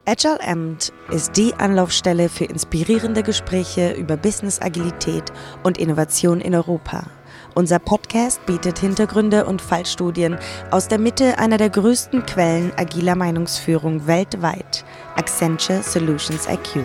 Agile Amt ist die Anlaufstelle für inspirierende Gespräche über Business-Agilität und Innovation in Europa. Unser Podcast bietet Hintergründe und Fallstudien aus der Mitte einer der größten Quellen agiler Meinungsführung weltweit, Accenture Solutions IQ.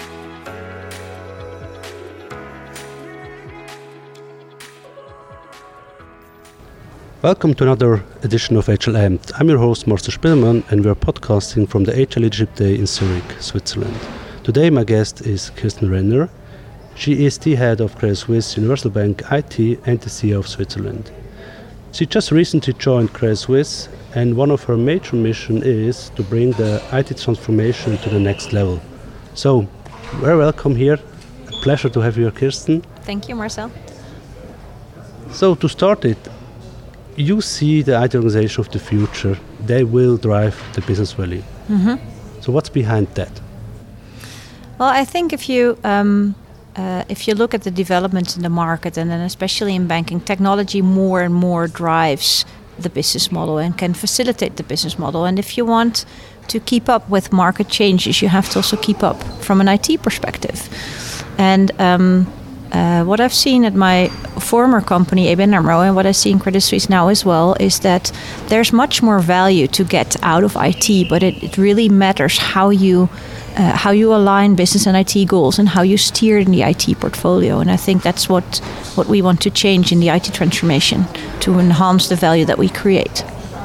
Welcome to another edition of Agile Amt. I'm your host, Marcel Spielmann, and we are podcasting from the Agile Leadership Day in Zurich, Switzerland. Today my guest is Kirsten Renner. She is the head of Credit Suisse Universal Bank IT and the CEO of Switzerland. She just recently joined Credit Suisse, and one of her major missions is to bring the IT transformation to the next level. So, very welcome here. A pleasure to have you here, Kirsten. Thank you, Marcel. So, to start it, you see the IT organization of the future. They will drive the business value. Mm-hmm. So what's behind that? Well, I think if you look at the developments in the market, and then especially in banking, technology more and more drives the business model and can facilitate the business model. And if you want to keep up with market changes, you have to also keep up from an IT perspective. And what I've seen at my former company, ABN AMRO, and what I see in Credit Suisse now as well, is that there's much more value to get out of IT, but it really matters how you align business and IT goals and how you steer in the IT portfolio. And I think that's what we want to change in the IT transformation to enhance the value that we create.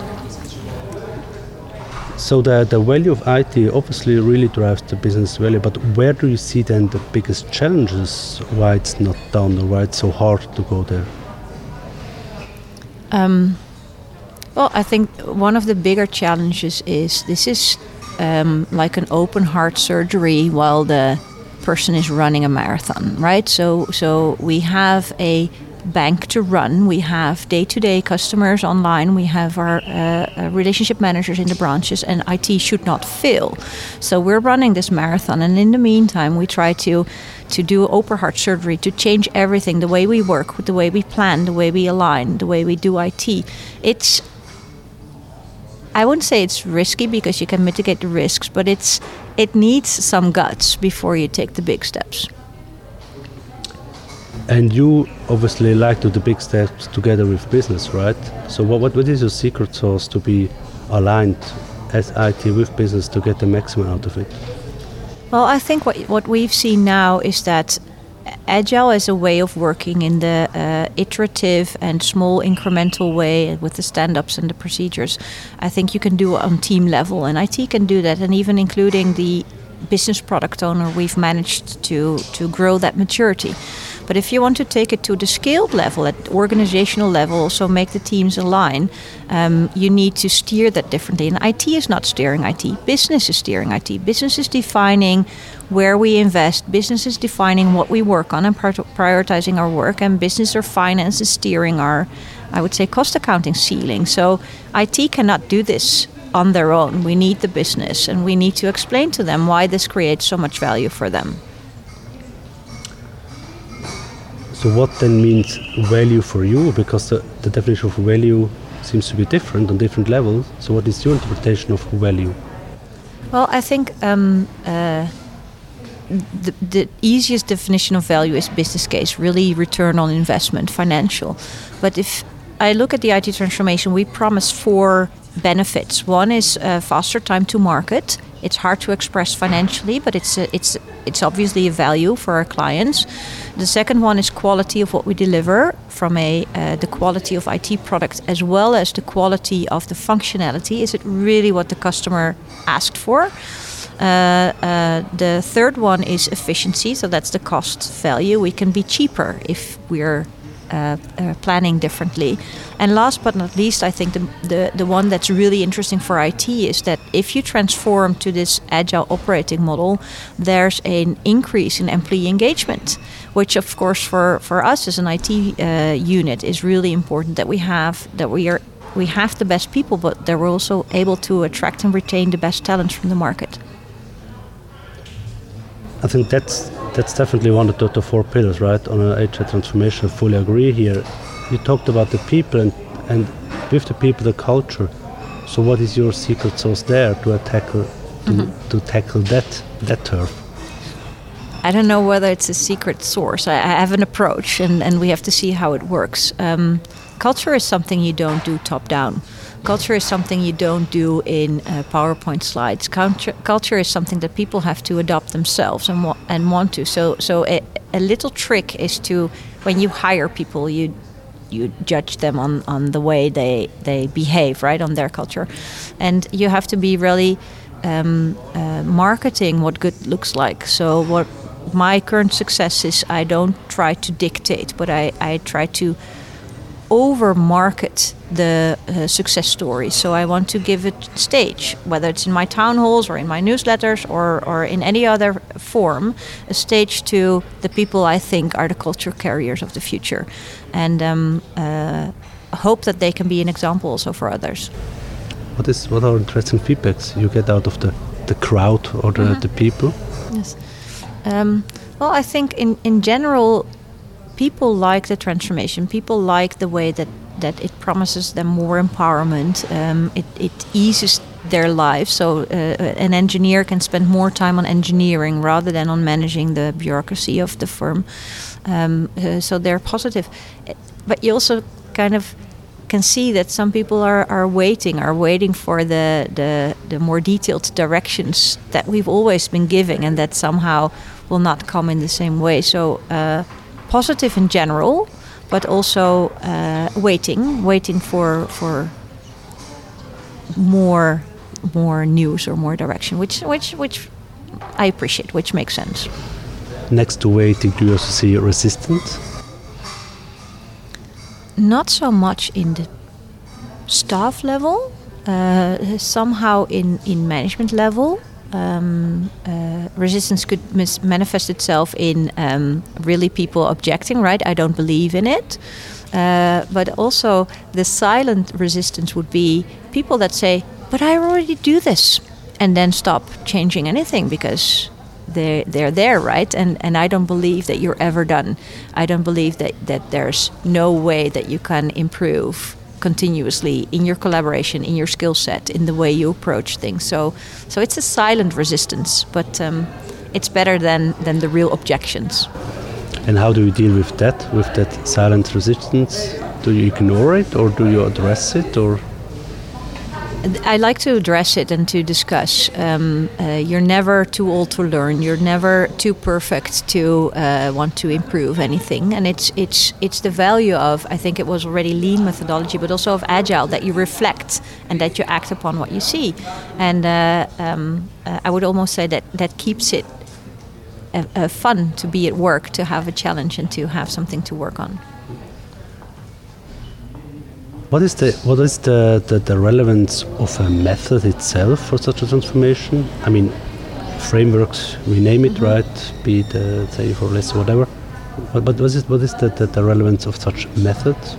So the value of IT obviously really drives the business value, but where do you see then the biggest challenges, why it's not done or why it's so hard to go there? Well, I think one of the bigger challenges is this is like an open heart surgery while the person is running a marathon, right? So we have a bank to run. We have day-to-day customers online. We have our relationship managers in the branches, and IT should not fail. So we're running this marathon, and in the meantime, we try to do open heart surgery to change everything, the way we work, the way we plan, the way we align, the way we do IT. I wouldn't say it's risky because you can mitigate the risks, but it needs some guts before you take the big steps. And you obviously like to do the big steps together with business, right? So what is your secret sauce to be aligned as IT with business to get the maximum out of it? Well, I think what we've seen now is that Agile is a way of working in the iterative and small incremental way with the stand-ups and the procedures. I think you can do it on team level, and IT can do that, and even including the business product owner, we've managed to grow that maturity. But if you want to take it to the scaled level, at organizational level, so make the teams align, you need to steer that differently. And IT is not steering IT. Business is steering IT. Business is defining where we invest. Business is defining what we work on and prioritizing our work. And business or finance is steering our, I would say, cost accounting ceiling. So IT cannot do this on their own. We need the business, and we need to explain to them why this creates so much value for them. So what then means value for you? Because the definition of value seems to be different on different levels. So what is your interpretation of value? Well, I think the easiest definition of value is business case, really return on investment, financial. But if I look at the IT transformation, we promise 4 benefits. One is faster time to market. It's hard to express financially, but it's obviously a value for our clients. The second one is quality of what we deliver, from the quality of IT product as well as the quality of the functionality. Is it really what the customer asked for? The third one is efficiency, so that's the cost value. We can be cheaper if we're planning differently. And last but not least, I think the one that's really interesting for IT is that if you transform to this agile operating model, there's an increase in employee engagement, which of course for us as an IT unit is really important, that we have the best people, but that we're also able to attract and retain the best talents from the market. I think that's definitely one of the 4 pillars, right? On an HR transformation, I fully agree here. You talked about the people and with the people, the culture. So what is your secret sauce there to tackle to tackle that turf? I don't know whether it's a secret source. I have an approach, and we have to see how it works. Culture is something you don't do top down. Culture is something you don't do in PowerPoint slides. Culture is something that people have to adopt themselves and want to. So a little trick is to, when you hire people, you judge them on the way they behave, right, on their culture. And you have to be really marketing what good looks like. So what my current success is, I don't try to dictate, but I try to over-market the success story. So I want to give it stage, whether it's in my town halls or in my newsletters or in any other form, a stage to the people I think are the culture carriers of the future. And hope that they can be an example also for others. What are interesting feedbacks you get out of the crowd or the people? Yes. Well, I think in general, people like the transformation. People like the way that it promises them more empowerment. It eases their lives. So an engineer can spend more time on engineering rather than on managing the bureaucracy of the firm. So they're positive. But you also kind of can see that some people are waiting for the more detailed directions that we've always been giving, and that somehow will not come in the same way. So positive in general, but also waiting for more news or more direction, which I appreciate, which makes sense. Next to waiting, do you also see resistance? Not so much in the staff level, somehow in management level. Resistance could manifest itself in really people objecting, right? I don't believe in it. But also the silent resistance would be people that say, but I already do this, and then stop changing anything because they're there, right? And I don't believe that you're ever done. I don't believe that there's no way that you can improve continuously in your collaboration, in your skill set, in the way you approach things. So it's a silent resistance, but it's better than the real objections. And how do you deal with that silent resistance? Do you ignore it, or do you address it, or? I like to address it and to discuss. You're never too old to learn. You're never too perfect to want to improve anything. And it's the value of, I think it was already lean methodology, but also of agile, that you reflect and that you act upon what you see. And I would almost say that keeps it fun to be at work, to have a challenge and to have something to work on. What is the relevance of a method itself for such a transformation? I mean, frameworks, we name it, right? Be it say for less or whatever. But what is the relevance of such methods?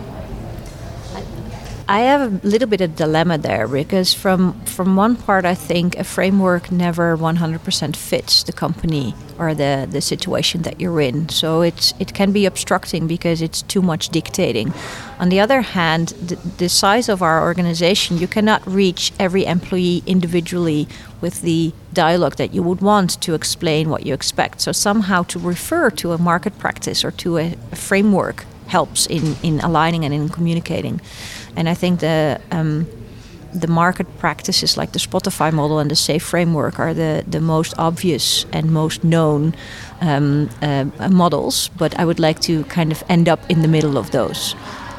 I have a little bit of dilemma there, because from one part I think a framework never 100% fits the company or the situation that you're in. So it can be obstructing because it's too much dictating. On the other hand, the size of our organization, you cannot reach every employee individually with the dialogue that you would want to explain what you expect. So somehow to refer to a market practice or to a framework helps in aligning and in communicating. And I think the market practices like the Spotify model and the SAFe framework are the most obvious and most known models, but I would like to kind of end up in the middle of those.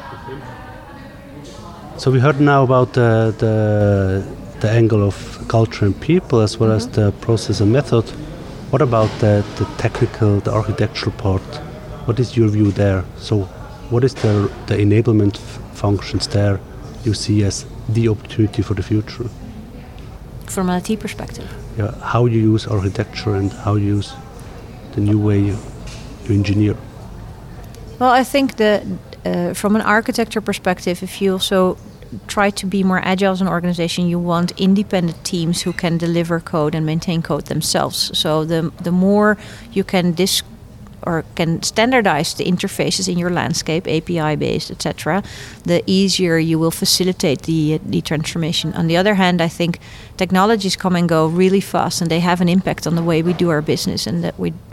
So we heard now about the angle of culture and people, as well as the process and method. What about the technical, the architectural part? What is your view there? So what is the enablement functions there you see as the opportunity for the future? From an IT perspective? Yeah, how you use architecture and how you use the new way you engineer. Well, I think that from an architecture perspective, if you also try to be more agile as an organization, you want independent teams who can deliver code and maintain code themselves. So the more you can or can standardize the interfaces in your landscape, API based, etc., the easier you will facilitate the transformation. On the other hand, I think technologies come and go really fast, and they have an impact on the way we do our business and that we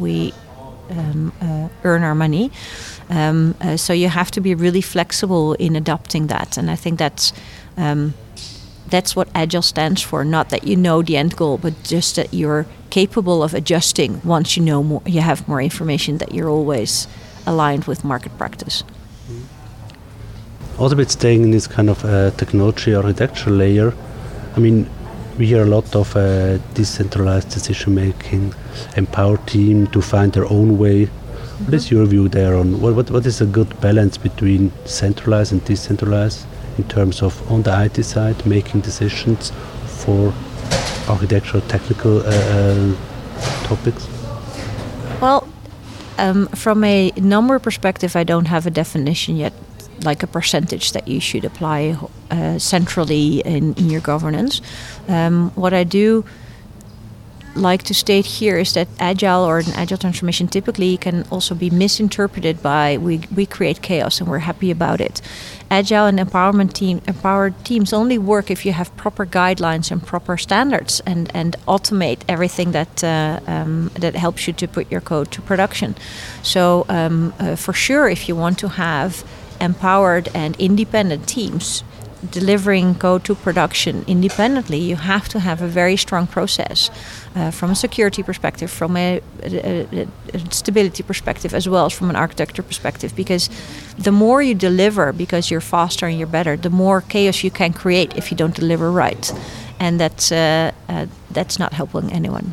earn our money. So you have to be really flexible in adopting that, and I think that's what Agile stands for. Not that you know the end goal, but just that you're capable of adjusting once you know more, you have more information, that you're always aligned with market practice. Also, with staying in this kind of technology architecture layer, I mean, we hear a lot of decentralized decision making, empower team to find their own way. Mm-hmm. What is your view there on what is a good balance between centralized and decentralized in terms of, on the IT side, making decisions for architectural technical topics? Well, from a number perspective, I don't have a definition yet, like a percentage that you should apply centrally in your governance. What I do like to state here is that Agile or an Agile transformation typically can also be misinterpreted by we create chaos and we're happy about it. Agile and empowered teams only work if you have proper guidelines and proper standards and automate everything that helps you to put your code to production. So for sure, if you want to have empowered and independent teams delivering code to production independently, you have to have a very strong process from a security perspective, from a stability perspective, as well as from an architecture perspective. Because the more you deliver, because you're faster and you're better, the more chaos you can create if you don't deliver right, and that's not helping anyone.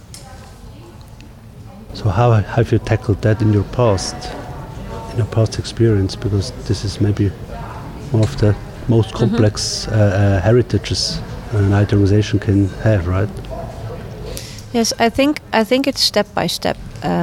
So how have you tackled that in your past experience? Because this is maybe one of the most complex heritages an IT organization can have, right? Yes, I think it's step by step.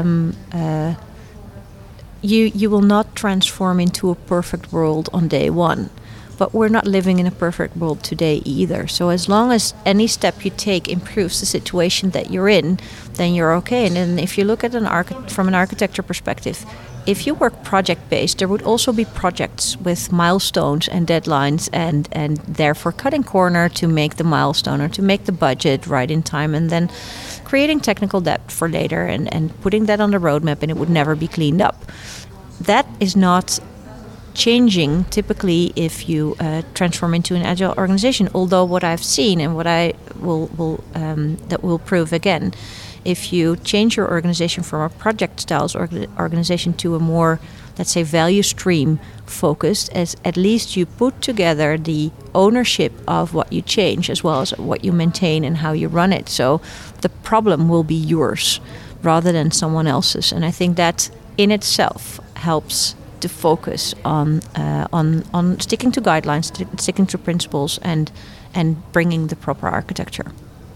You will not transform into a perfect world on day one, but we're not living in a perfect world today either. So as long as any step you take improves the situation that you're in, then you're okay. And then if you look at from an architecture perspective, if you work project-based, there would also be projects with milestones and deadlines and therefore cutting corner to make the milestone or to make the budget right in time, and then creating technical debt for later and putting that on the roadmap, and it would never be cleaned up. That is not changing typically if you transform into an Agile organization. Although what I've seen and what I will prove again, if you change your organization from a project styles organization to a more, let's say, value stream focused, as at least you put together the ownership of what you change as well as what you maintain and how you run it. So the problem will be yours rather than someone else's. And I think that in itself helps to focus on sticking to guidelines, sticking to principles, and bringing the proper architecture.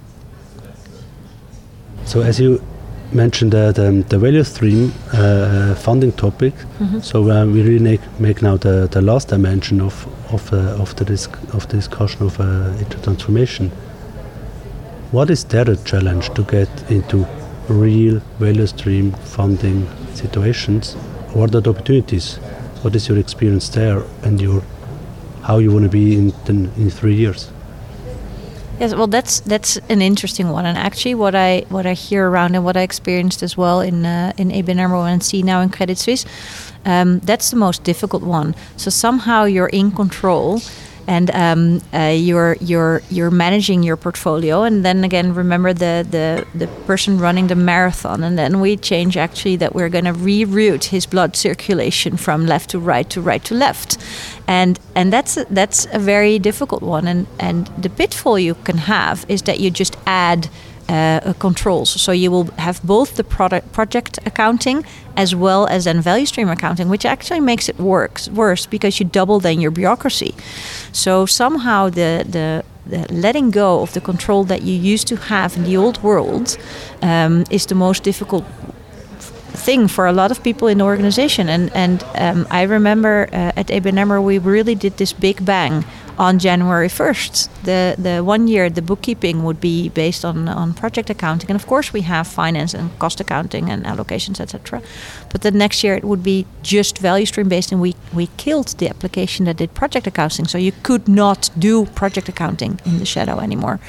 So as you mentioned the value stream funding topic, so we really make now the last dimension of the discussion of transformation. What is there the challenge to get into real value stream funding situations? What are the opportunities? What is your experience there, and how you want to be in 3 years? Yes, well, that's an interesting one, and actually, what I hear around and what I experienced as well in ABN AMRO and see now in Credit Suisse, that's the most difficult one. So somehow you're in control, and you're managing your portfolio, and then again, remember the person running the marathon, and then we change actually that we're going to reroute his blood circulation from left to right to left. And that's a very difficult one, and the pitfall you can have is that you just add controls. So you will have both the project accounting as well as then value stream accounting, which actually makes it worse because you double then your bureaucracy. So somehow the letting go of the control that you used to have in the old world is the most difficult thing for a lot of people in the organization. And I remember at ABN AMRO we really did this big bang on January 1st. The 1 year, the bookkeeping would be based on project accounting. And of course, we have finance and cost accounting and allocations, etc. But the next year, it would be just value stream based. And we killed the application that did project accounting. So you could not do project accounting in the shadow anymore.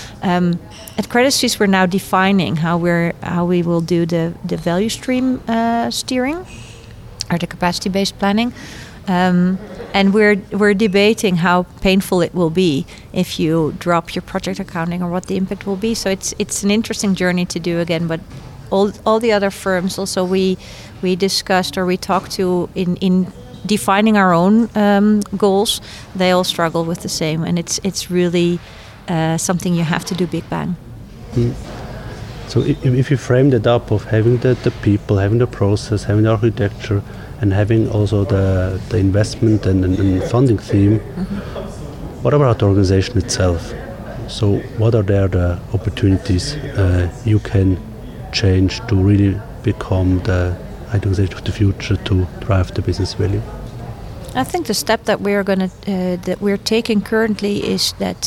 At Credit Suisse, we're now defining how we will do the value stream steering or the capacity-based planning. And we're debating how painful it will be if you drop your project accounting or what the impact will be. So it's an interesting journey to do again. But all the other firms also we discussed or we talked to in defining our own goals. They all struggle with the same, and it's really something you have to do big bang. So if you frame that up of having the people, having the process, having the architecture, and having also the investment and funding theme, what about the organization itself? So what are there the opportunities you can change to really become the organization of the future to drive the business value? I think the step that we're taking currently is that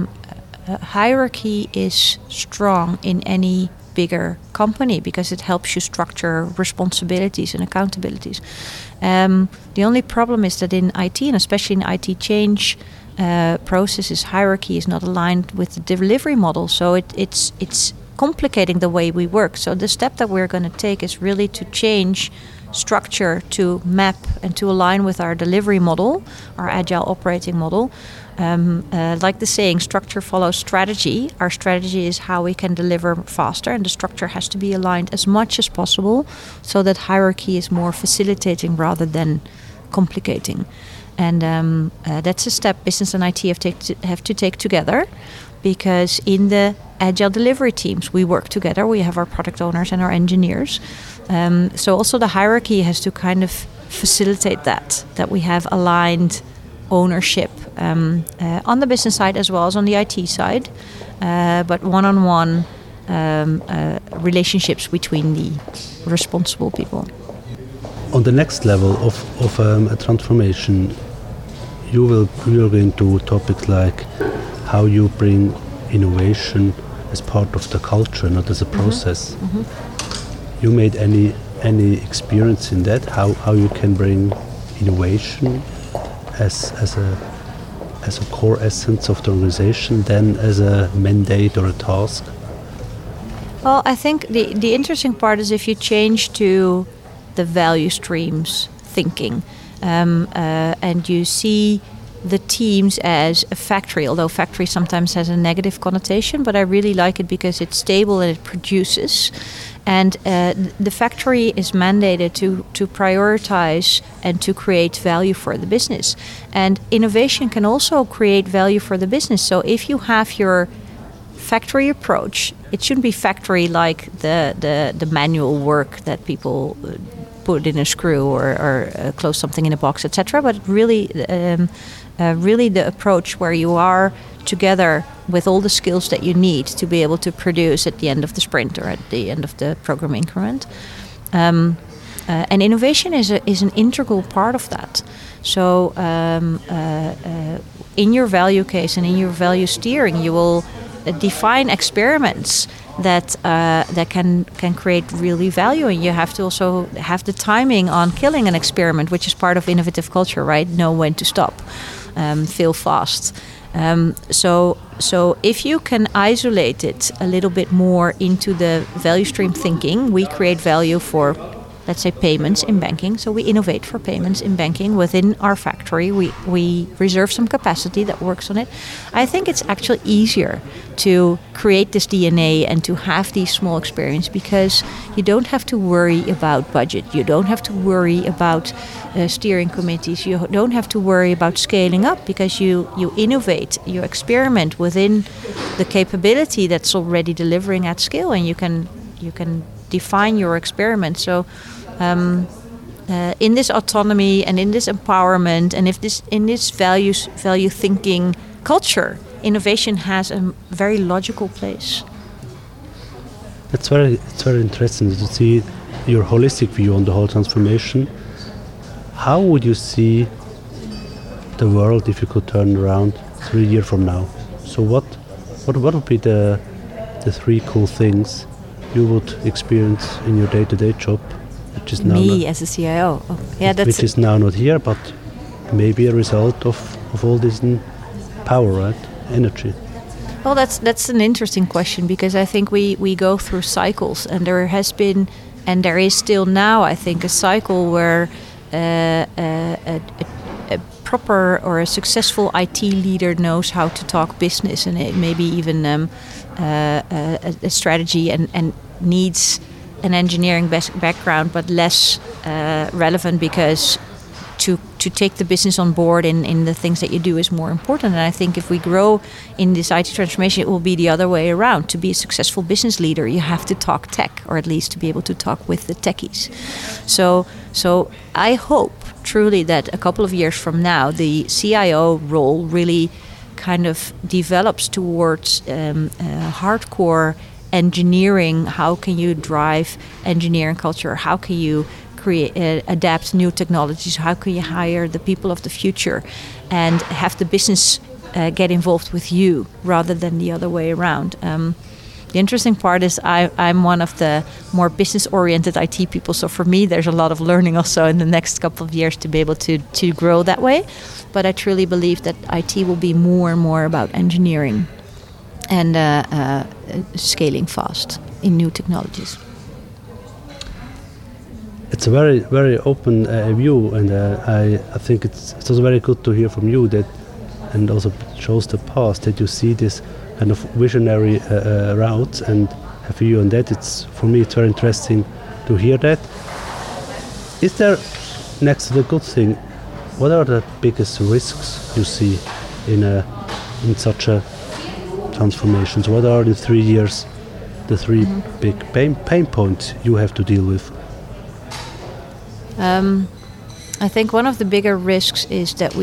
hierarchy is strong in any bigger company because it helps you structure responsibilities and accountabilities. The only problem is that in IT, and especially in IT change processes, hierarchy is not aligned with the delivery model. So it's complicating the way we work. So the step that we're going to take is really to change structure to map and to align with our delivery model, our agile operating model. Like the saying, structure follows strategy. Our strategy is how we can deliver faster, and the structure has to be aligned as much as possible so that hierarchy is more facilitating rather than complicating. And that's a step business and IT have to take together, because in the agile delivery teams, we work together. We have our product owners and our engineers. So also the hierarchy has to kind of facilitate that we have aligned ownership on the business side as well as on the IT side, but one-on-one relationships between the responsible people. On the next level of a transformation, you are going to topics like how you bring innovation as part of the culture, not as a process. You made any experience in that? How you can bring innovation as a core essence of the organization, then as a mandate or a task? Well, I think the interesting part is if you change to the value streams thinking, and you see the teams as a factory, although factory sometimes has a negative connotation, but I really like it because it's stable and it produces. And the factory is mandated to prioritize and to create value for the business. And innovation can also create value for the business. So if you have your factory approach, it shouldn't be factory like the manual work that people put in a screw or close something in a box, etc. But really the approach where you are together with all the skills that you need to be able to produce at the end of the sprint or at the end of the program increment. And innovation is an integral part of that. So in your value case and in your value steering, you will define experiments that can create really value, and you have to also have the timing on killing an experiment, which is part of innovative culture, right? Know when to stop, fail fast. So if you can isolate it a little bit more into the value stream thinking, we create value for, let's say, payments in banking. So we innovate for payments in banking within our factory. We reserve some capacity that works on it. I think it's actually easier to create this DNA and to have these small experiments because you don't have to worry about budget. You don't have to worry about steering committees. You don't have to worry about scaling up because you innovate, you experiment within the capability that's already delivering at scale, and you can define your experiment. So in this autonomy and in this empowerment and in this value thinking culture, innovation has a very logical place. It's very interesting to see your holistic view on the whole transformation. How would you see the world if you could turn around 3 years from now? So what would be the 3 cool things you would experience in your day-to-day job, which is now as a CIO? Oh, yeah, which is now not here, but maybe a result of all this power, right? Energy. Well, that's an interesting question, because I think we go through cycles, and there has been, and there is still now, I think, a cycle where a proper or a successful IT leader knows how to talk business, and it maybe even a strategy and needs an engineering background, but less relevant, because to take the business on board in the things that you do is more important. And I think if we grow in this IT transformation, it will be the other way around. To be a successful business leader, you have to talk tech, or at least to be able to talk with the techies. So I hope truly that a couple of years from now, the CIO role really kind of develops towards hardcore engineering. How can you drive engineering culture? How can you adapt new technologies? How can you hire the people of the future and have the business get involved with you rather than the other way around? The interesting part is I'm one of the more business-oriented IT people, so for me there's a lot of learning also in the next couple of years to be able to grow that way. But I truly believe that IT will be more and more about engineering and scaling fast in new technologies. It's a very, very open view, and I think it's also very good to hear from you that, and also shows the past, that you see this kind of visionary routes and have a view on that. For me it's very interesting to hear that. Is there, next to the good thing, what are the biggest risks you see in such a transformation? So what are in 3 years the 3 big pain points you have to deal with? I think one of the bigger risks is that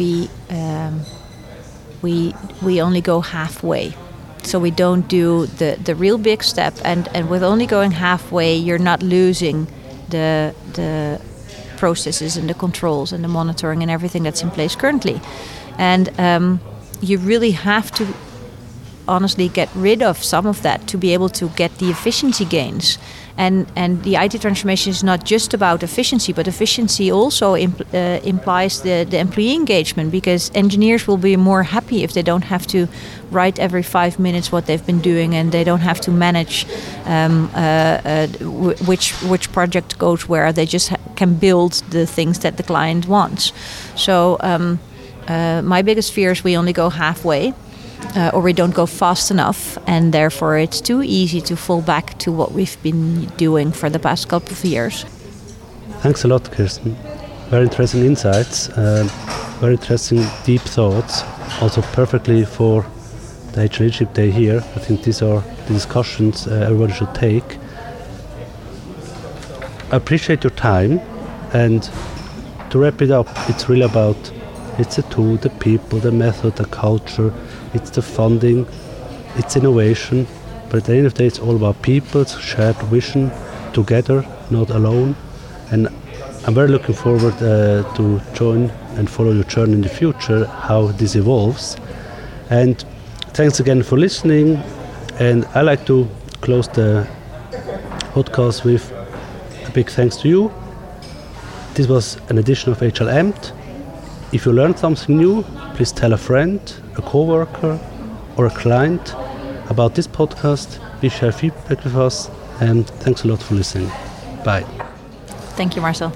we only go halfway. So we don't do the real big step, and with only going halfway, you're not losing the processes and the controls and the monitoring and everything that's in place currently. And you really have to honestly get rid of some of that to be able to get the efficiency gains. And the IT transformation is not just about efficiency, but efficiency also implies the employee engagement, because engineers will be more happy if they don't have to write every 5 minutes what they've been doing, and they don't have to manage which project goes where. They just can build the things that the client wants. So my biggest fear is we only go halfway. Or we don't go fast enough, and therefore it's too easy to fall back to what we've been doing for the past couple of years. Thanks a lot, Kirsten. Very interesting insights, very interesting deep thoughts, also perfectly for the HR Leadership Day here. I think these are the discussions everybody should take. I appreciate your time, and to wrap it up, it's really about, it's the tool, the people, the method, the culture, it's the funding, it's innovation, but at the end of the day it's all about people's shared vision together, not alone. And I'm very looking forward to join and follow your journey in the future, how this evolves. And thanks again for listening, and I like to close the podcast with a big thanks to you. This was an edition of HR Amped. If you learned something new, please tell a friend, a co-worker or a client about this podcast. Please share feedback with us, and thanks a lot for listening. Bye. Thank you, Marcel.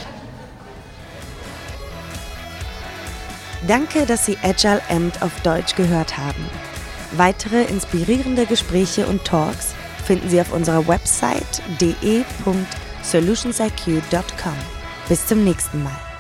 Danke, dass Sie Agile Amped auf Deutsch gehört haben. Weitere inspirierende Gespräche und Talks finden Sie auf unserer Website de.solutionsiq.com. Bis zum nächsten Mal.